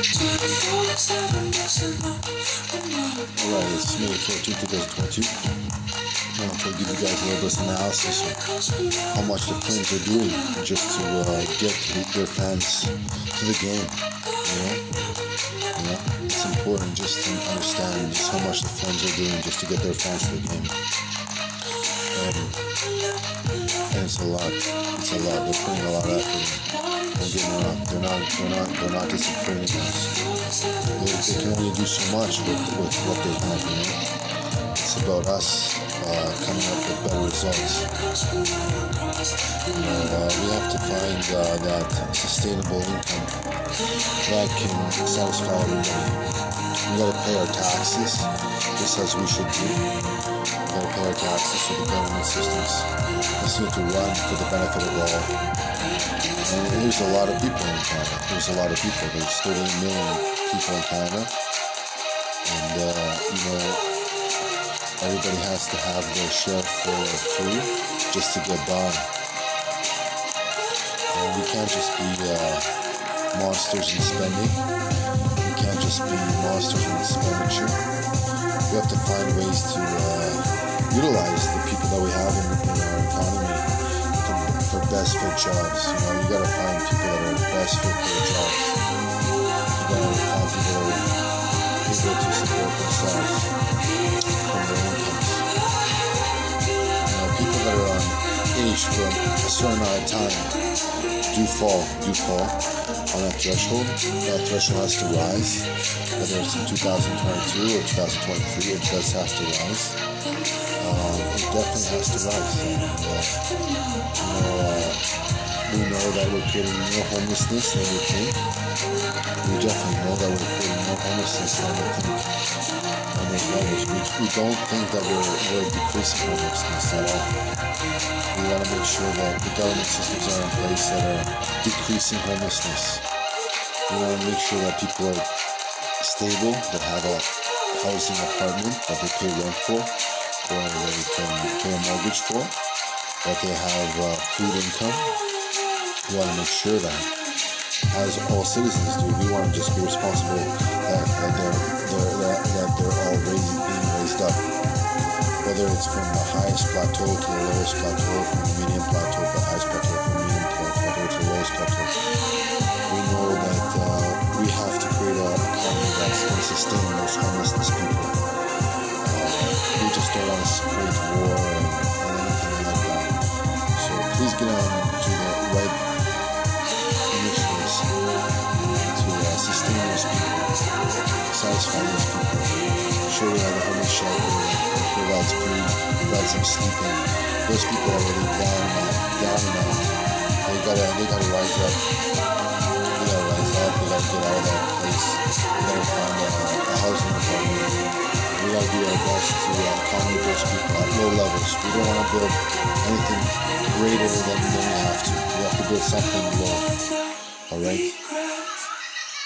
Alright, it's May 14th, 2022. I'm going to give you guys a little bit of analysis of how much the Flames are doing just to get their fans to the game. It's important just to understand just how much the Flames are doing just to get their fans to the game. And it's a lot. It's a lot. They're putting a lot of effort in. Don't get me wrong. They're not disappointing us. They can only do so much with what they have, It's about us coming up with better results. We have to find that sustainable income that can satisfy everybody. We gotta pay our taxes, just as we should do. We gotta pay our taxes for the government systems. This need to run for the benefit of all. And there's a lot of people in Canada. There's 38 million people in Canada. And, everybody has to have their share for food just to get by. And we can't just be monsters in spending. We can't just be monsters in expenditure. We have to find ways to utilize the people that we have in our economy for best fit jobs. You gotta find people that are best fit for the jobs. You gotta find people that are able to support themselves from their incomes. People that are on age for a certain amount of time do fall on that threshold. That threshold has to rise, whether it's in 2022 or 2023, it does have to rise. It definitely has to rise. We know that we're creating more homelessness than we think. We definitely know that we're creating more homelessness than we think on those levels. We don't think that we're decreasing homelessness at all. We want to make sure that the government systems are in place that are decreasing homelessness. We want to make sure that people are stable, that have a housing apartment that they pay rent for, or they can pay a mortgage for, that they have food income. We want to make sure that, as all citizens do, we want to just be responsible that they're all being raised up. Whether it's from the highest plateau to the lowest plateau, from the medium plateau to the highest plateau, from the medium plateau to the lowest plateau. We know that we have to create an economy that's going to sustain those homelessness people. We just don't want to create war and anything like that. So please get on to the right initiatives to sustain those people, satisfy those people. Sure, we have a homeless shelter, provides food, provides some sleeping. Those people are already down and out. They gotta rise up. They gotta get out of that place. We gotta find a housing apartment. We gotta do our best to accommodate those people at low levels. We don't want to build anything greater than we have to. We have to build something low. Alright?